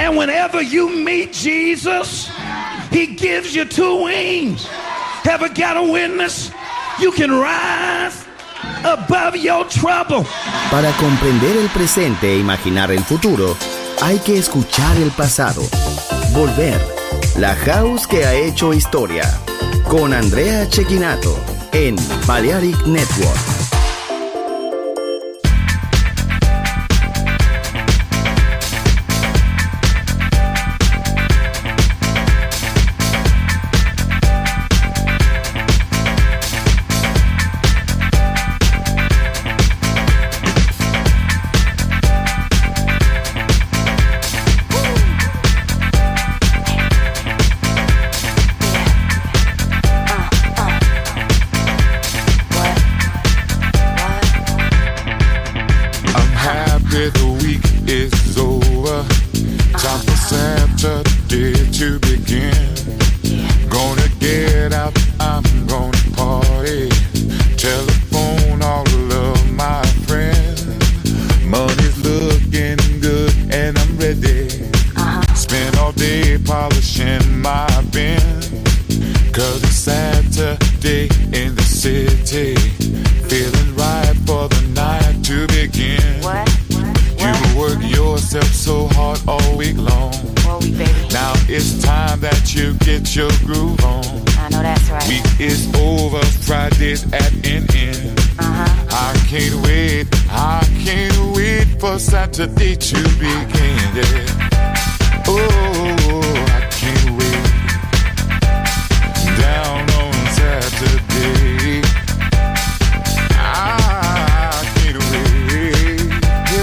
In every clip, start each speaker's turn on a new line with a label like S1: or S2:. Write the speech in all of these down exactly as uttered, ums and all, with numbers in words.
S1: And whenever you meet Jesus, he gives you two wings. Ever got a witness? You can rise above your trouble.
S2: Para comprender el presente e imaginar el futuro, hay que escuchar el pasado. Volver. La house que ha hecho historia. Con Andrea Cecchinato en Balearic Network.
S3: Saturday to begin, yeah. Oh, I can't wait. Down on Saturday, I can't wait.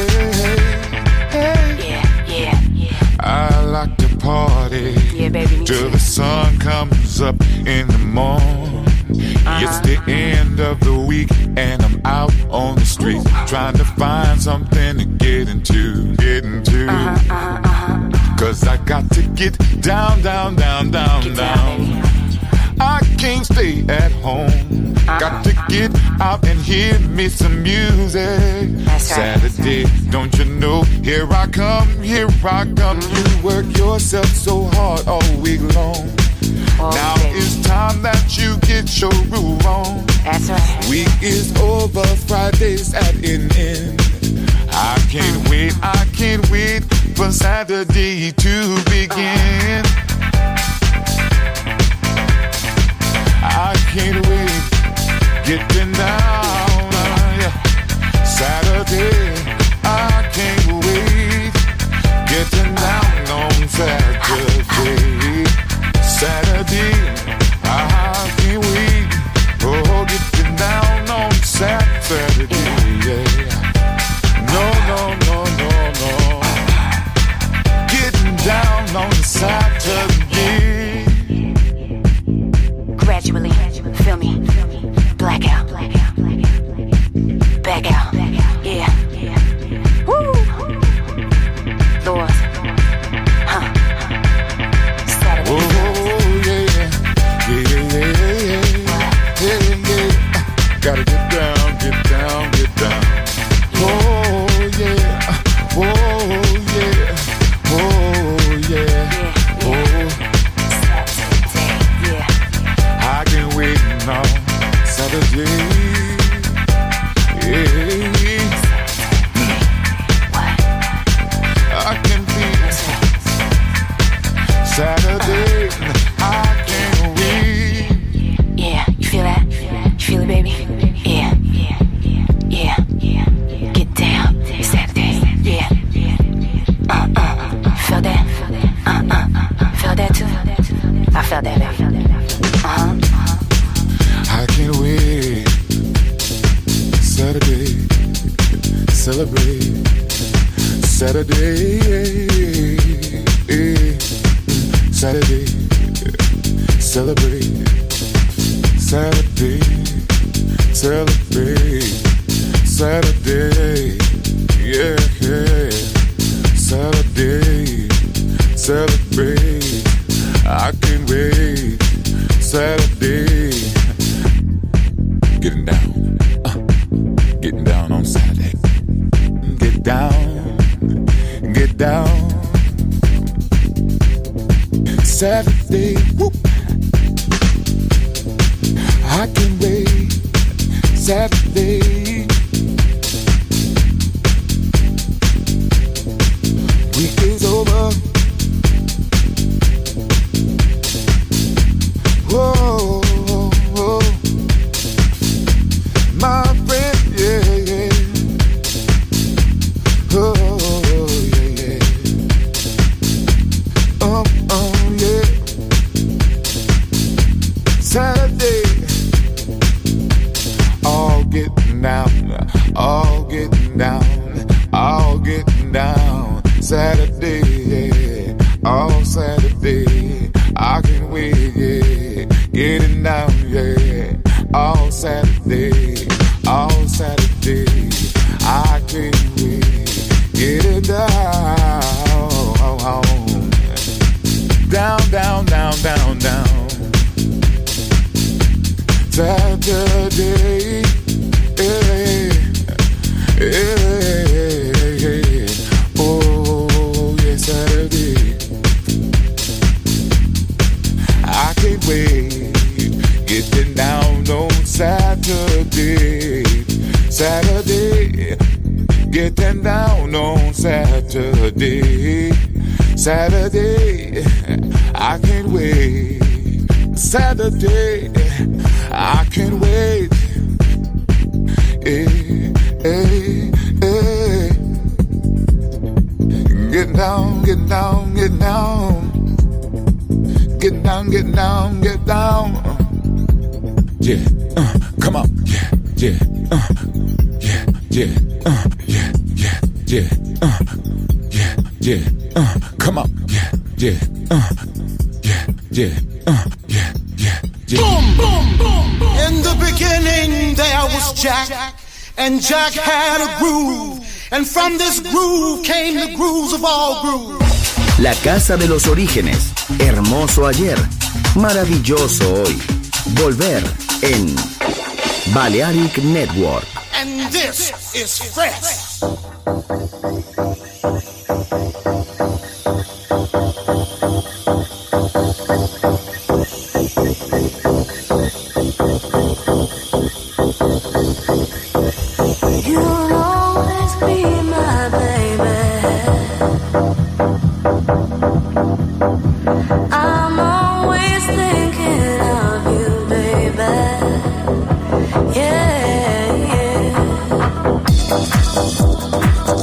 S3: Yeah, yeah, yeah, yeah. I like to party, yeah, baby, till the sun comes up in the morning. Uh-huh. It's the end of the week and I'm out on the street trying to find something to get into, get into. Uh-huh, uh-huh, uh-huh. Cause I got to get down, down, down, down, get down. down I can't stay at home. Uh-huh. Got to get out and hear me some music. That's right. Saturday, don't you know? Here I come, here I come. You work yourself so hard all week long. Oh, now baby, it's time that you get your groove on. That's right. Week is over, Friday's at an end. I can't wait, I can't wait for Saturday to begin. I can't wait, getting down, uh, yeah. Saturday, I can't wait, getting down on Saturday. Saturday, I can't wait, oh, getting down on Saturday, yeah. No, no, no, no, no. Getting down on Saturday.
S4: Gradually, feel me, blackout, back out, yeah. Woo! Lord, huh? Saturday.
S3: Oh, yeah, yeah, yeah, yeah, yeah, yeah. Gotta get down, get down, get down. Oh yeah, oh yeah, oh yeah, oh. Saturday, yeah. I can't wait now, Saturday, yeah. I can feel Saturday, I can't wait.
S4: Yeah, you feel that? You feel it, baby? Yeah, yeah, yeah, yeah. Get down, Saturday, yeah. Uh, uh, felt that? Uh, uh, felt that too? I felt that, baby. Uh-huh.
S3: I can't wait. Saturday, celebrate. Saturday, Saturday, celebrate. Saturday, celebrate. Saturday, yeah, yeah. Saturday, celebrate. I can't wait. Saturday, getting down, uh, getting down on Saturday. Get down, get down. Saturday, whoop. I can wait. Saturday. Week is over. Whoa, whoa. My friend, yeah, yeah. Oh, yeah, yeah. Oh, oh, yeah. Saturday. All getting down, all getting down, all getting down. Saturday, yeah. All Saturday. I can wait, yeah. Getting down, yeah. All Saturday, all Saturday. I can wait. Getting down. Down, down, down, down, down. Saturday, yeah, yeah, yeah. Oh, yeah, Saturday. I can't wait. Getting down on Saturday, Saturday. Getting down on Saturday, Saturday. I can't wait. Saturday, I can't wait. Hey, hey, hey. Get down, get down, get down. Get down, get down, get down. Yeah, uh, come on. Yeah, yeah, uh, yeah, yeah, uh, yeah, yeah, yeah, uh, yeah, yeah, uh, come on. Yeah, yeah, uh, yeah, yeah, uh, yeah, yeah, yeah.
S5: Boom, boom, boom, boom. In the beginning there was Jack, and Jack had a groove, and from this groove came the grooves of all grooves.
S2: La casa de los orígenes, hermoso ayer, maravilloso hoy. Volver en Balearic Network.
S5: And this is fresh.
S4: You'll always be my baby. I'm always thinking of you, baby. Yeah, yeah.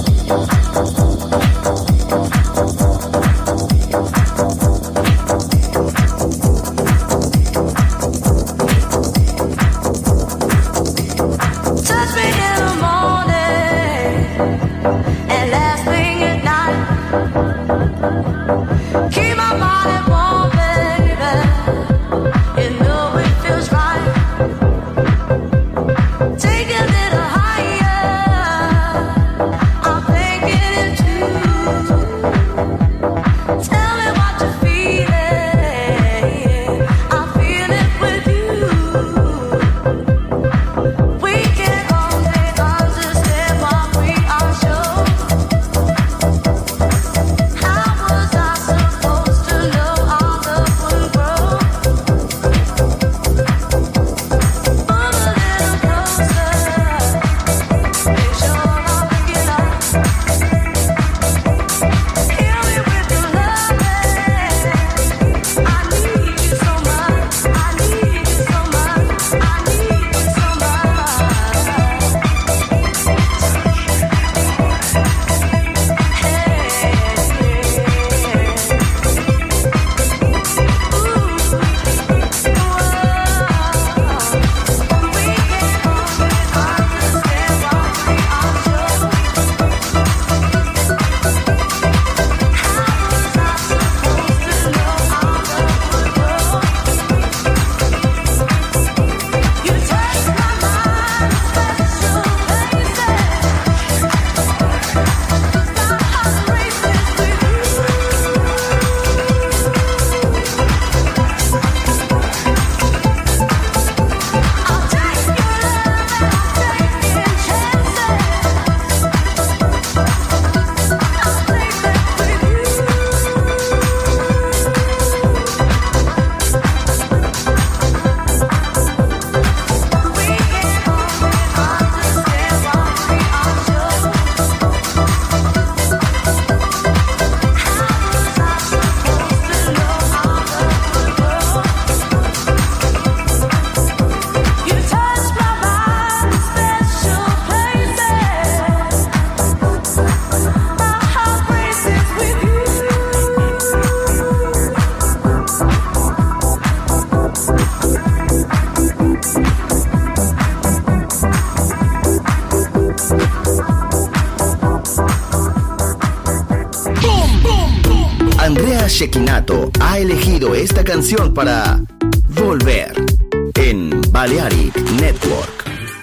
S2: Andrea Cecchinato ha elegido esta canción para Volver en Balearic Network.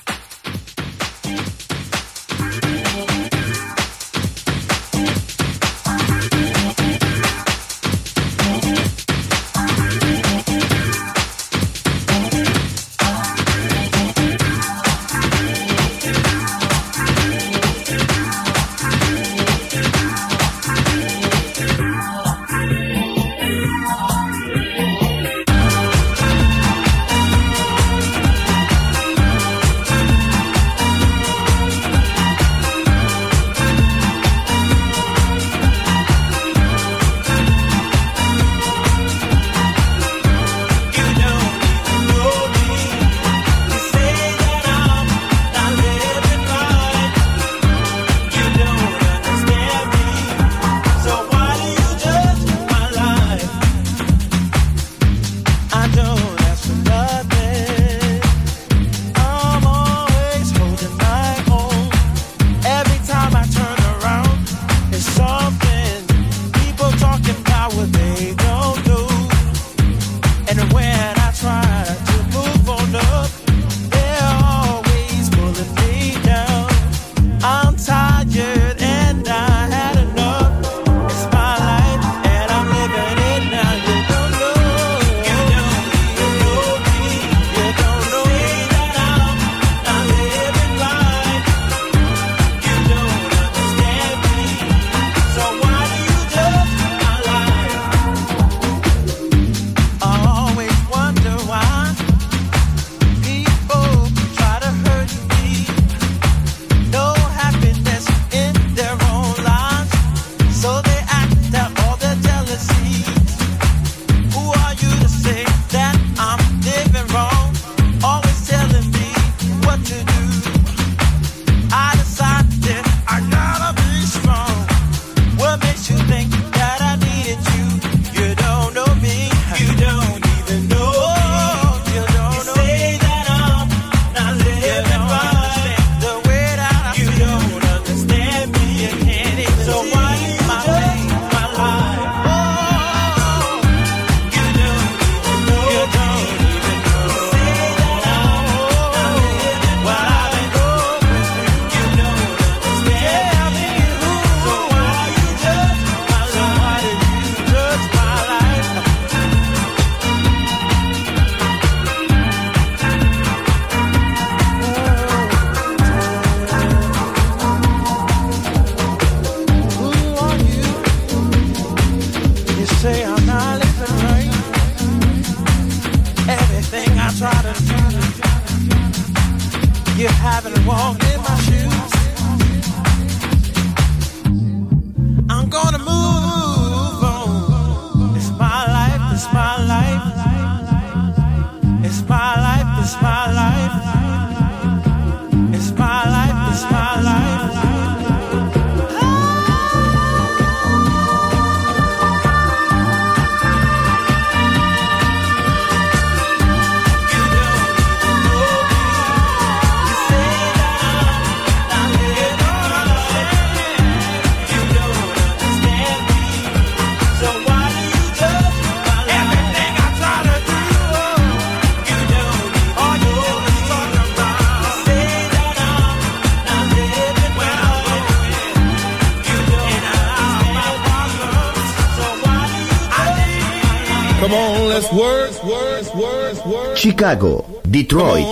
S2: Chicago, Detroit,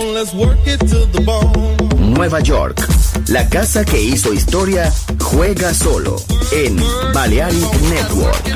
S2: Nueva York. La casa que hizo historia juega solo en Balearic Network.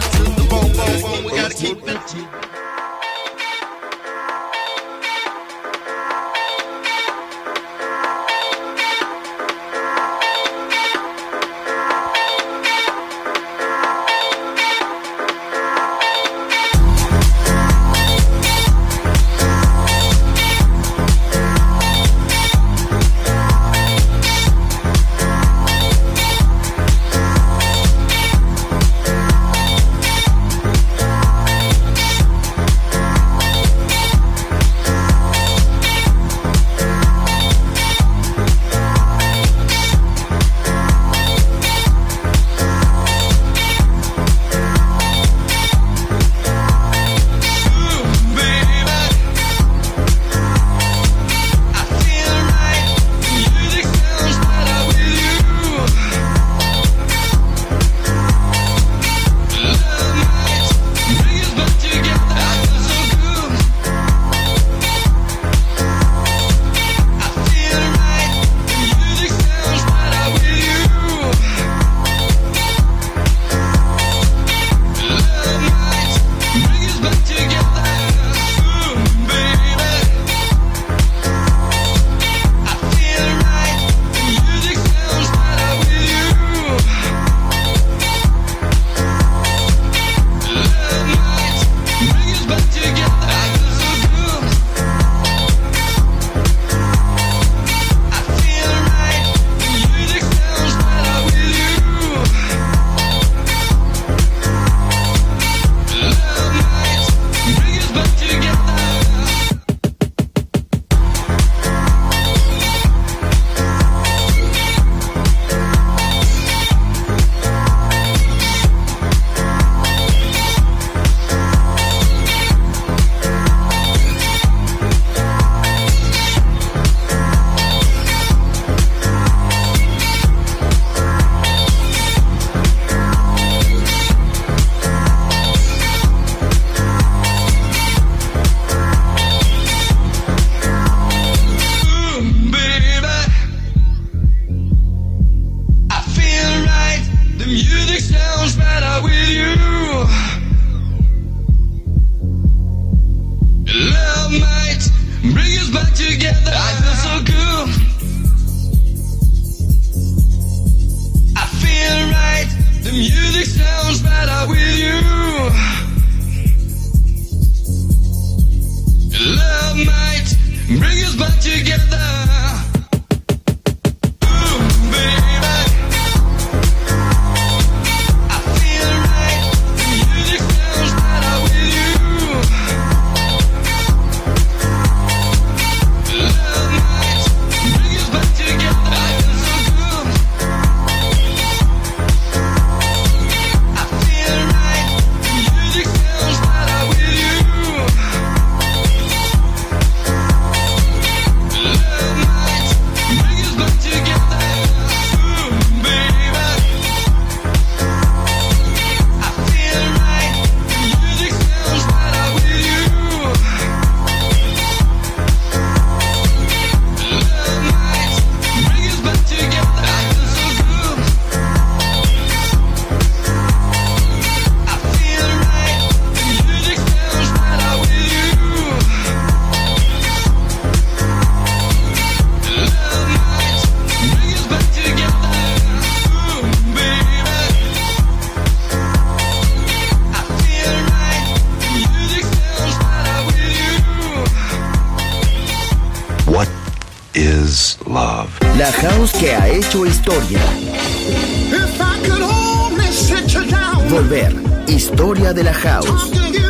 S6: is love.
S2: La house que ha hecho historia.
S5: If I could only sit you down.
S2: Volver. Historia de la house.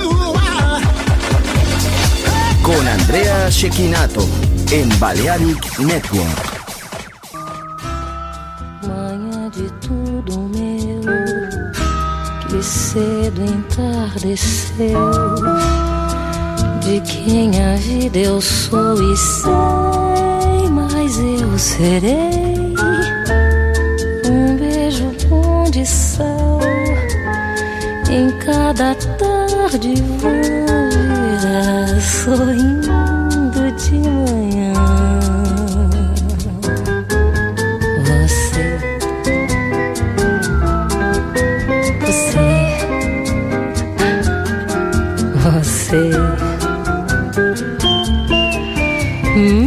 S2: Con Andrea Cecchinato en Balearic Network.
S7: Manhã de tudo meu, que cedo entardeceu. De quem a vida eu sou e sei, mas eu serei um beijo bom de sal em cada tarde voa, sorrindo de manhã. Você, você, você. Hum,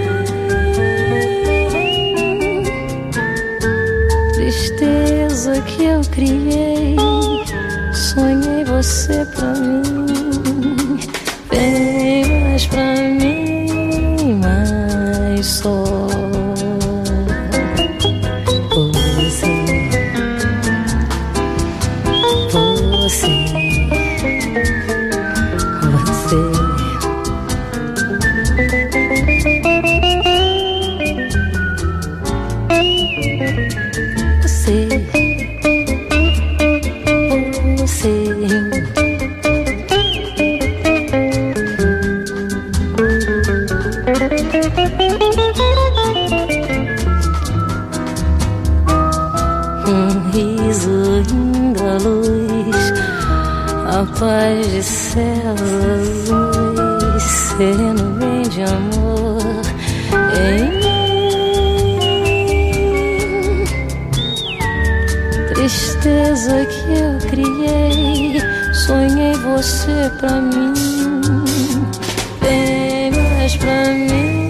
S7: tristeza que eu criei, sonhei você pra mim, bem mais pra mim, mas só você, você, você. A paz de céus azuis, sereno bem de amor em mim. Tristeza que eu criei, sonhei você pra mim, bem mais pra mim,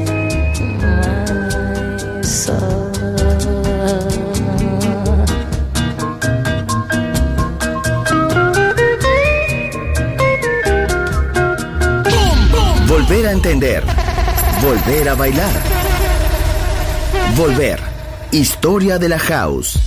S7: mas só.
S2: Volver a entender. Volver a bailar. Volver. Historia de la house.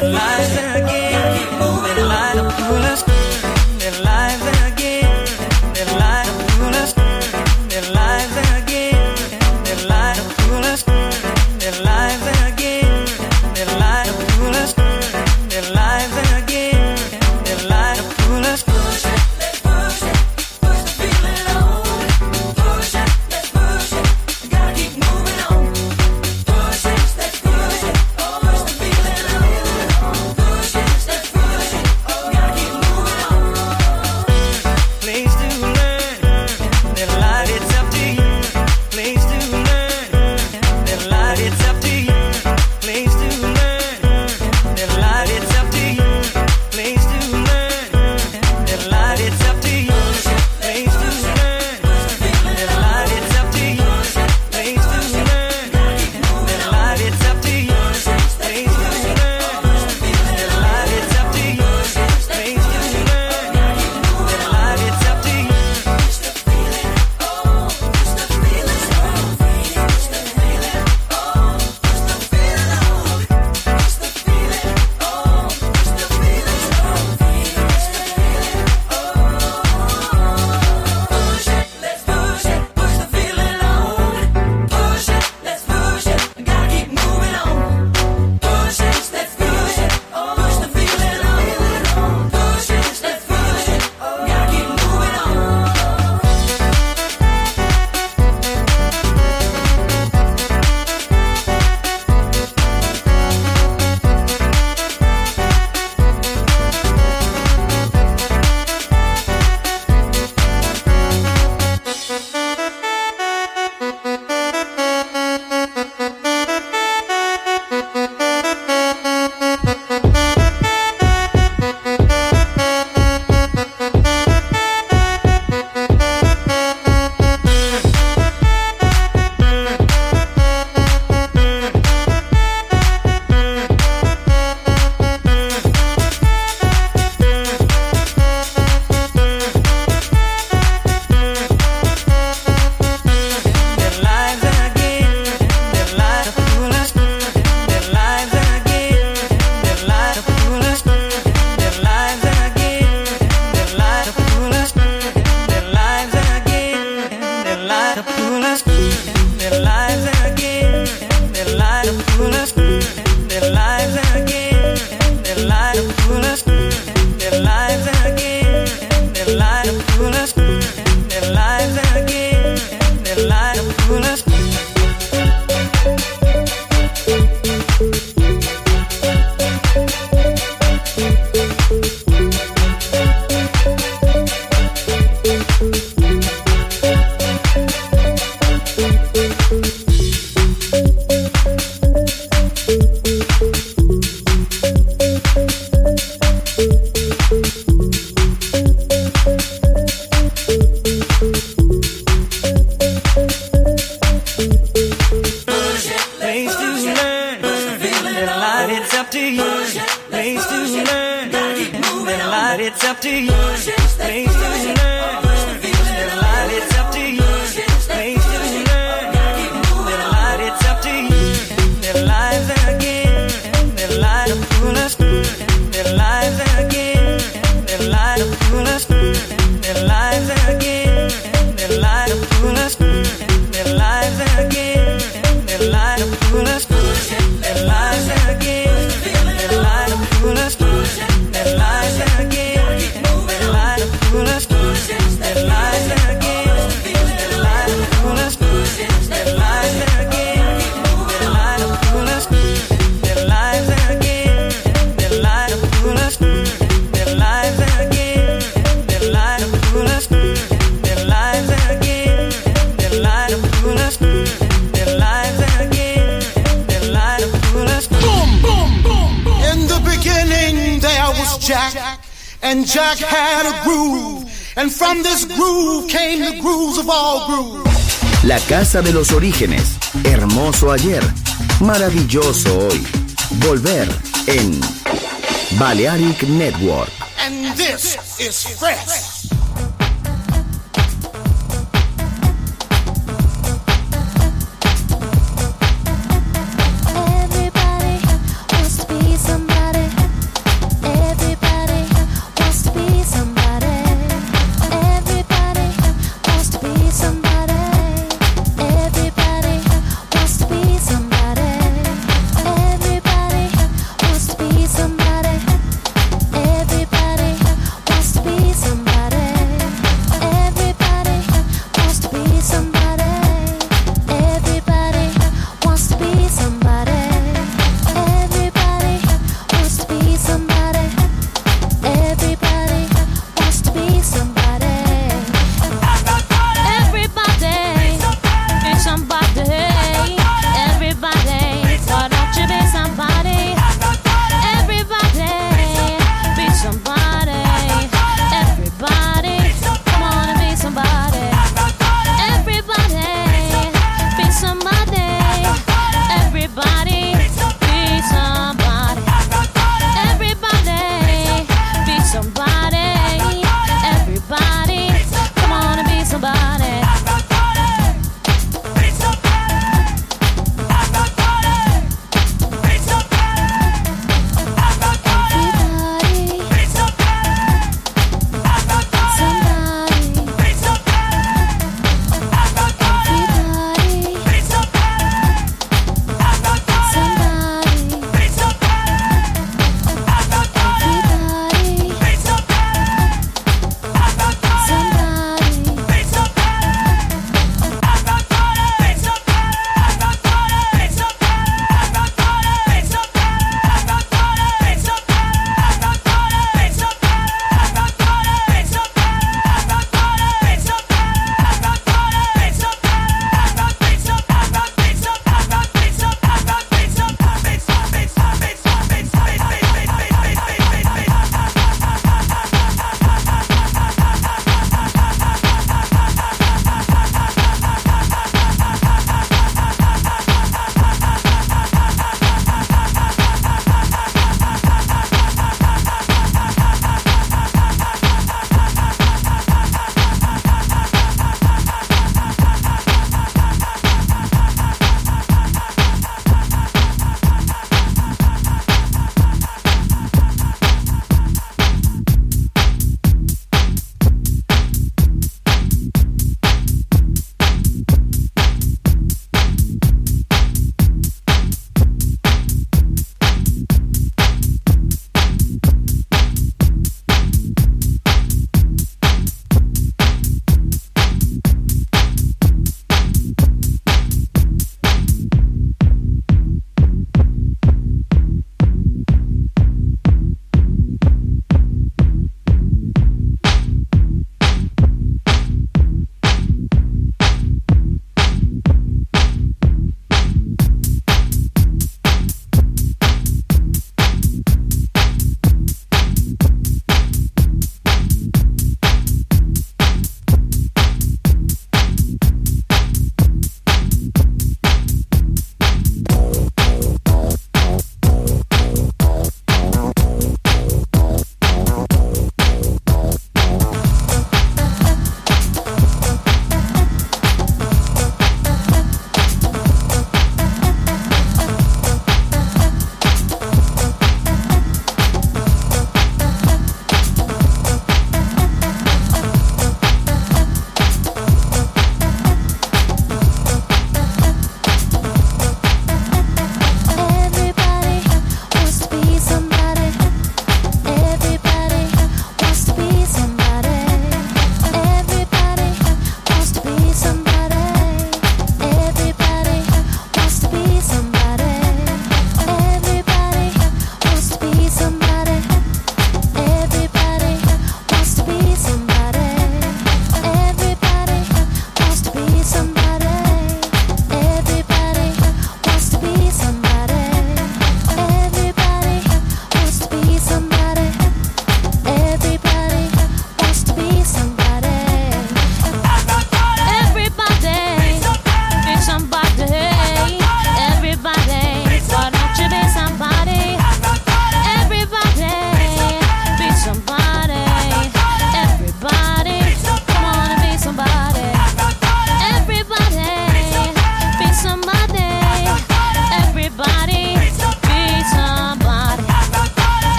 S5: And Jack had a groove, and from this groove came the grooves of all grooves.
S2: La casa de los orígenes, hermoso ayer, maravilloso hoy. Volver en Balearic Network.
S5: And this is fresh.
S7: Everybody wants to be somebody.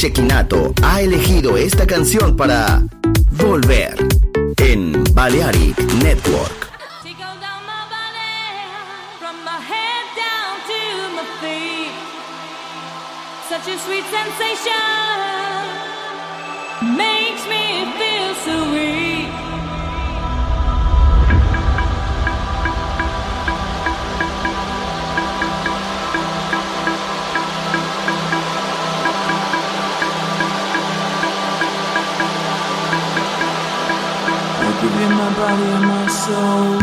S2: Cecchinato ha elegido esta canción para Volver en Balearic Network.
S6: Such a sweet sensation makes me feel so weak. I give you my body and my soul.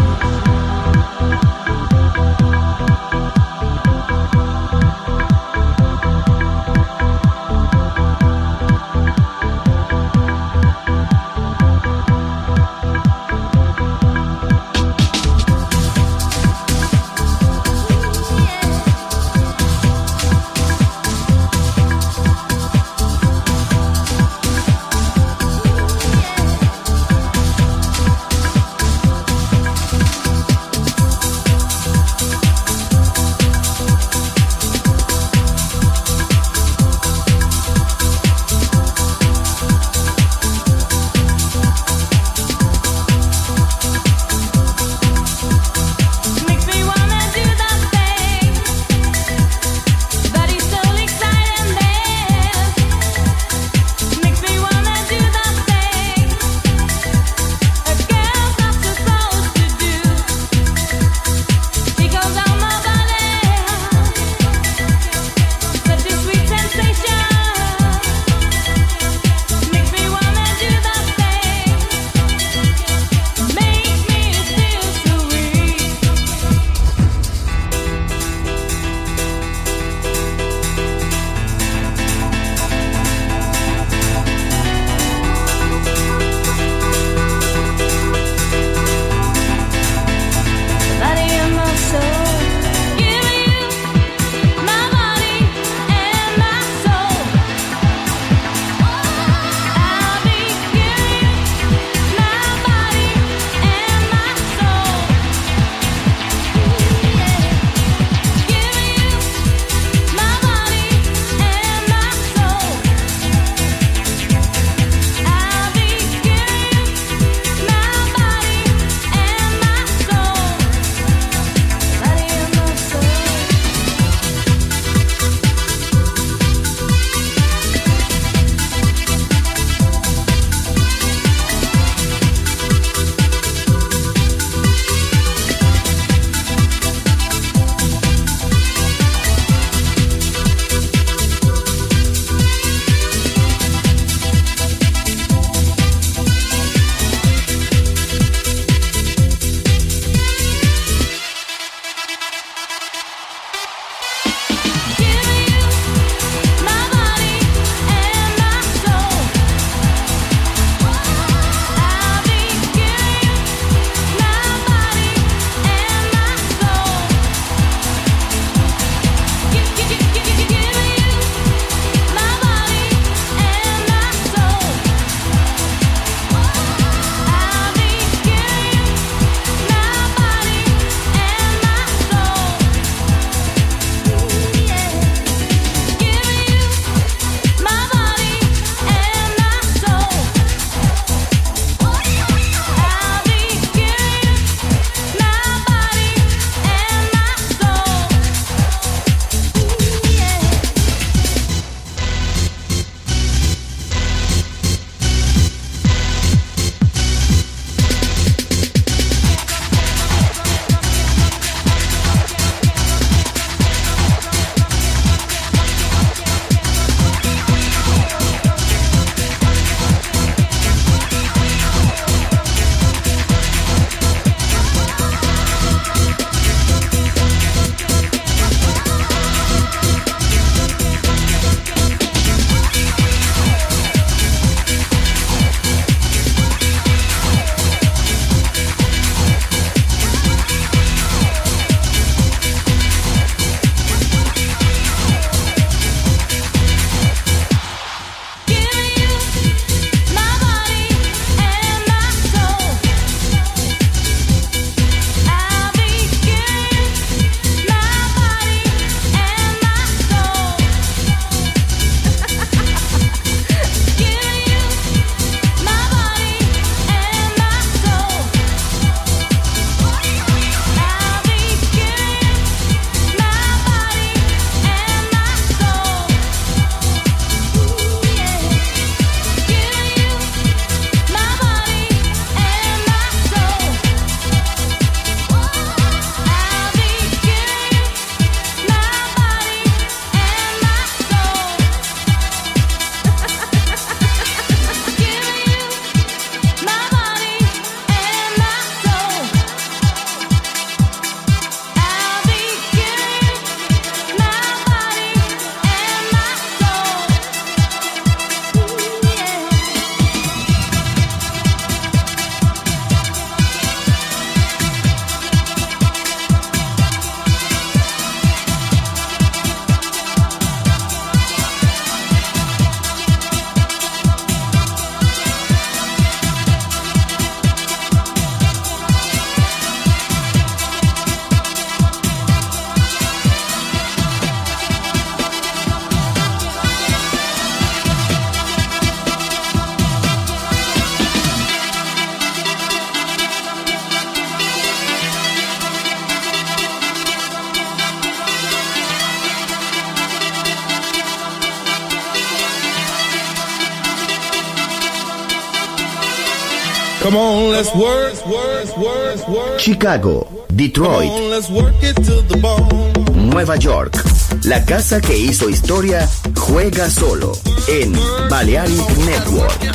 S8: Come on, let's work, work, work, work.
S2: Chicago, Detroit,
S8: Come on, let's work it to the bone.
S2: Nueva York. La casa que hizo historia juega solo en Balearic Network.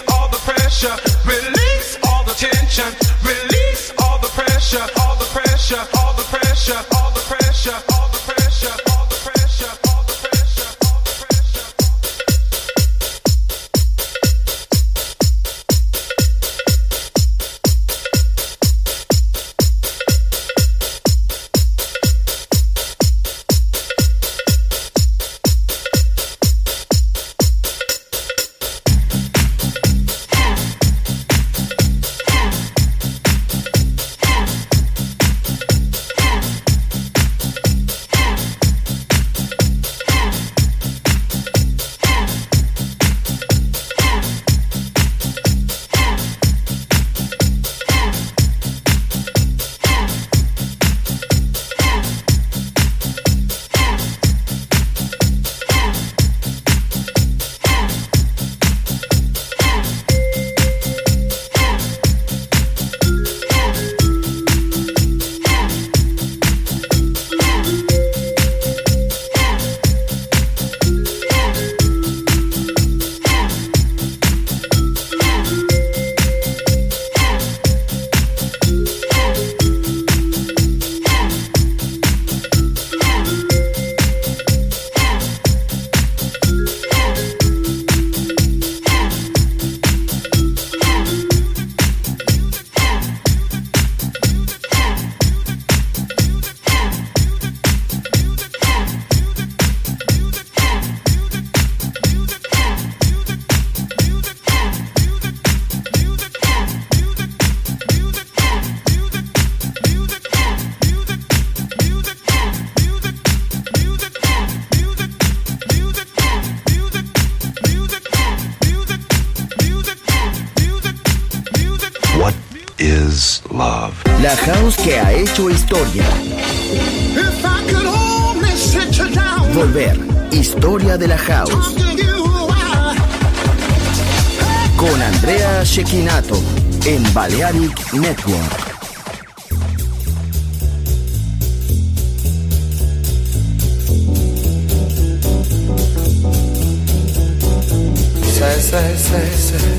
S9: Release all the tension, release all the pressure, all the pressure.
S2: La house que ha hecho historia. Volver, historia de la house. Con Andrea Cecchinato en Balearic Network.
S9: Say, say, say, say.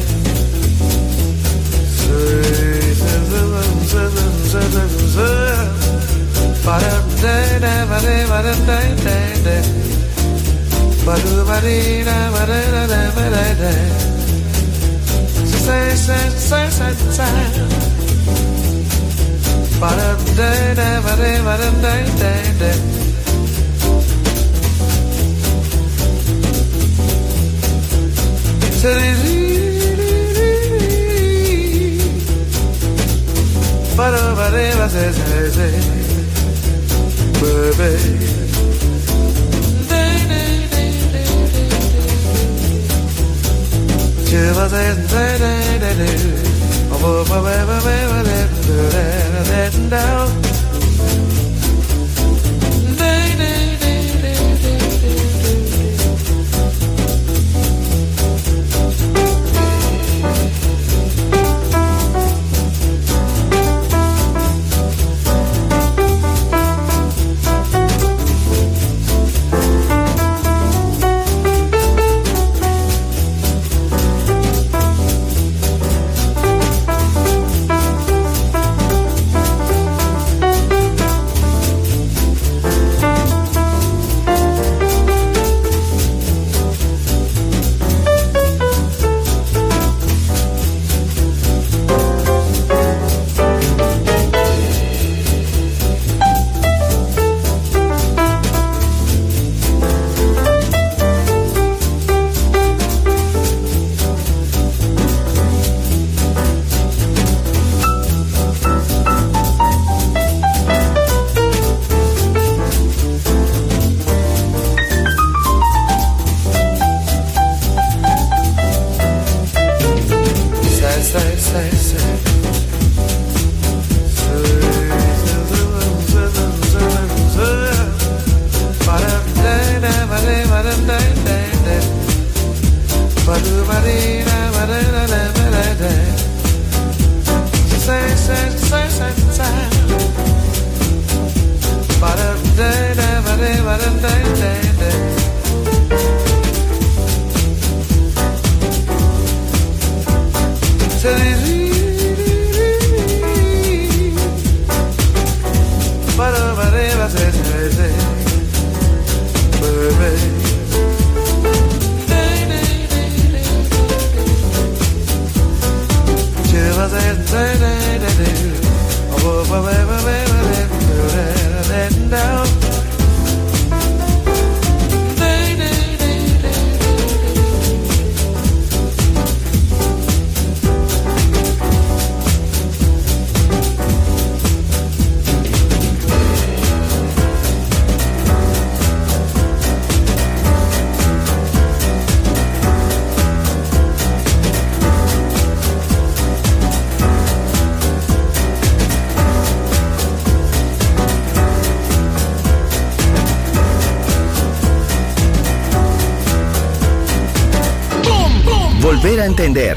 S2: Volver a entender.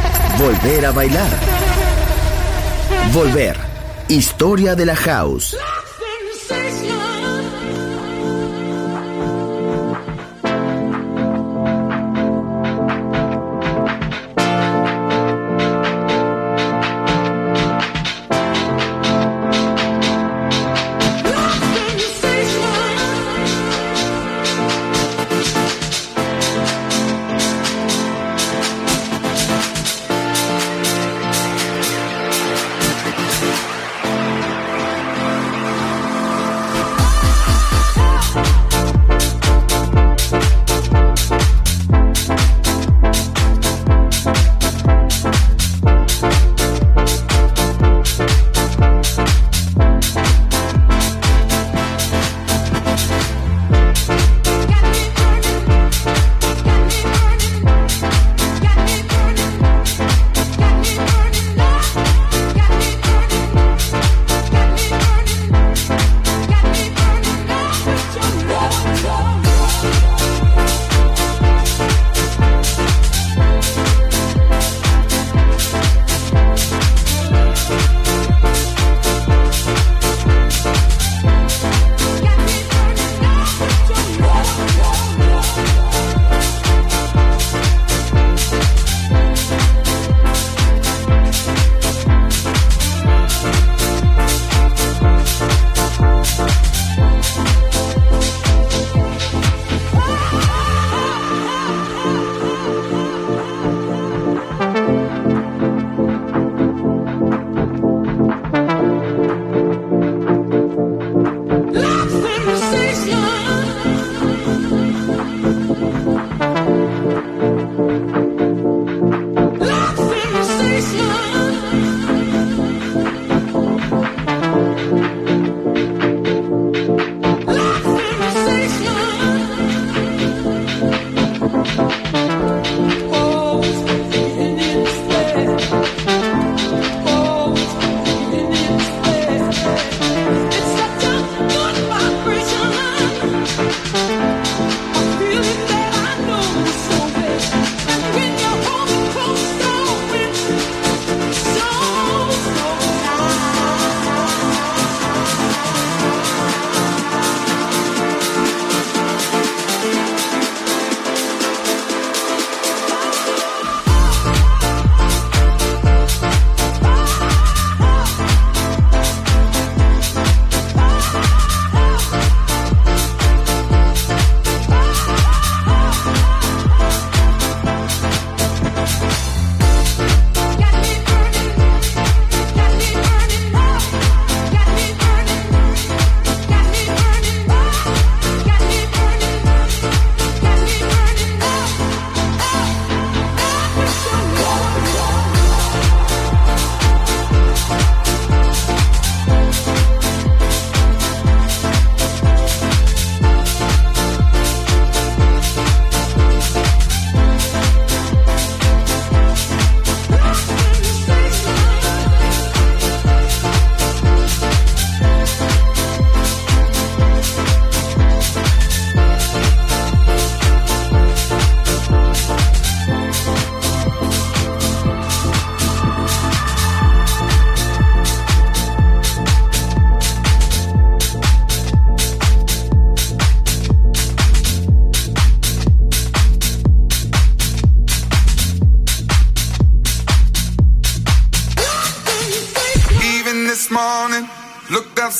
S2: Volver a bailar. Volver. Historia de la house.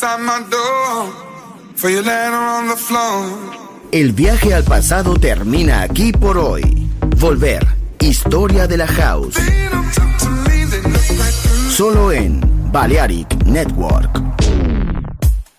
S10: outside my door. For your letter on the floor.
S2: El viaje al pasado termina aquí por hoy. Volver, historia de la house. Solo en Balearic Network.